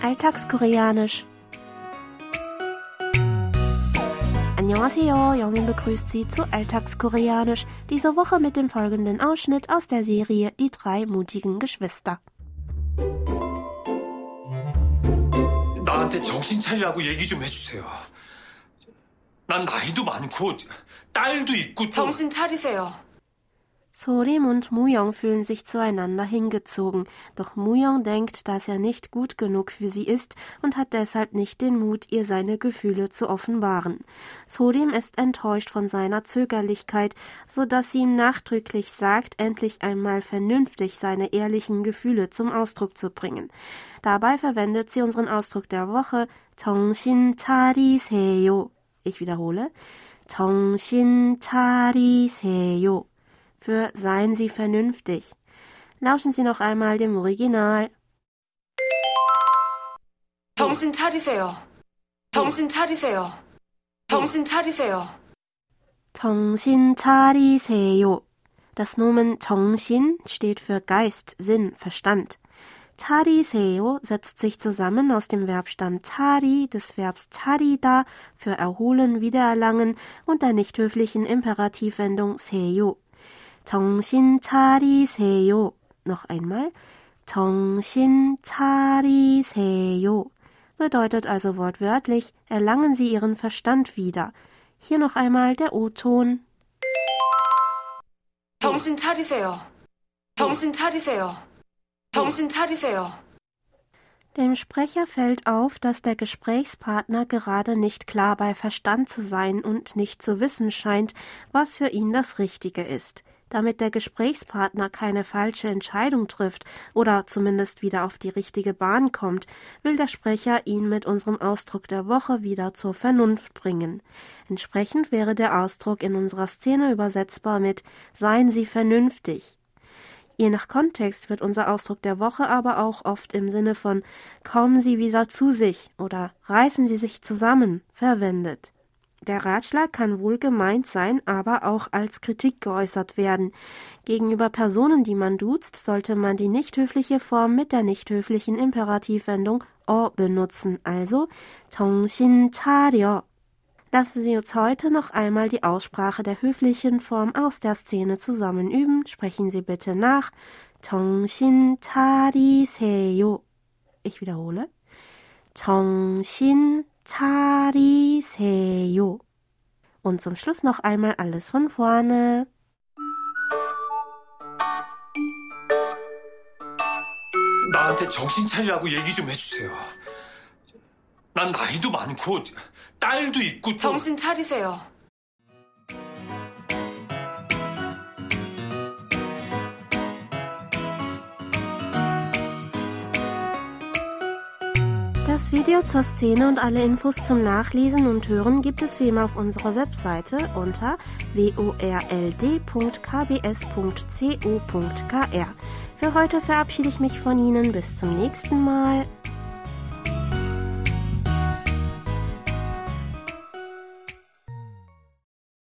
Alltagskoreanisch. Annyeonghaseyo, Jongin begrüßt Sie zu Alltagskoreanisch, diese Woche mit dem folgenden Ausschnitt aus der Serie Die drei mutigen Geschwister. 나한테 정신 차리라고 얘기 좀 해주세요. 난 나이도 많고 딸도 있고 정신 차리세요. Sorim und Muyong fühlen sich zueinander hingezogen, doch Muyong denkt, dass er nicht gut genug für sie ist und hat deshalb nicht den Mut, ihr seine Gefühle zu offenbaren. Sorim ist enttäuscht von seiner Zögerlichkeit, so dass sie ihm nachdrücklich sagt, endlich einmal vernünftig seine ehrlichen Gefühle zum Ausdruck zu bringen. Dabei verwendet sie unseren Ausdruck der Woche, 정신 차리세요. Ich wiederhole, 정신 차리세요. Für seien Sie vernünftig. Lauschen Sie noch einmal dem Original. 정신 차리세요. 정신 차리세요. 정신 차리세요. 정신 차리세요. Das Nomen 정신 steht für Geist, Sinn, Verstand. 차리세요 setzt sich zusammen aus dem Verbstamm 차리, des Verbs 차리다 für erholen, wiedererlangen und der nicht höflichen Imperativwendung 세요. 정신 차리세요. Noch einmal. 정신 차리세요. Bedeutet also wortwörtlich, erlangen Sie Ihren Verstand wieder. Hier noch einmal der O-Ton. 정신 차리세요. 정신 차리세요. 정신 차리세요. Dem Sprecher fällt auf, dass der Gesprächspartner gerade nicht klar bei Verstand zu sein und nicht zu wissen scheint, was für ihn das Richtige ist. Damit der Gesprächspartner keine falsche Entscheidung trifft oder zumindest wieder auf die richtige Bahn kommt, will der Sprecher ihn mit unserem Ausdruck der Woche wieder zur Vernunft bringen. Entsprechend wäre der Ausdruck in unserer Szene übersetzbar mit »Seien Sie vernünftig«. Je nach Kontext wird unser Ausdruck der Woche aber auch oft im Sinne von »Kommen Sie wieder zu sich« oder »Reißen Sie sich zusammen« verwendet. Der Ratschlag kann wohl gemeint sein, aber auch als Kritik geäußert werden. Gegenüber Personen, die man duzt, sollte man die nicht höfliche Form mit der nicht höflichen Imperativwendung 어 benutzen, also 정신 차려. Lassen Sie uns heute noch einmal die Aussprache der höflichen Form aus der Szene zusammen üben. Sprechen Sie bitte nach. 정신 차리세요. Ich wiederhole. 정신 차리세요. Und zum Schluss noch einmal alles von vorne. 나한테 정신 차리라고 얘기 좀 해주세요. 난 나이도 많고 딸도 있고 정신 차리세요. Das Video zur Szene und alle Infos zum Nachlesen und Hören gibt es wie immer auf unserer Webseite unter world.kbs.co.kr. Für heute verabschiede ich mich von Ihnen. Bis zum nächsten Mal.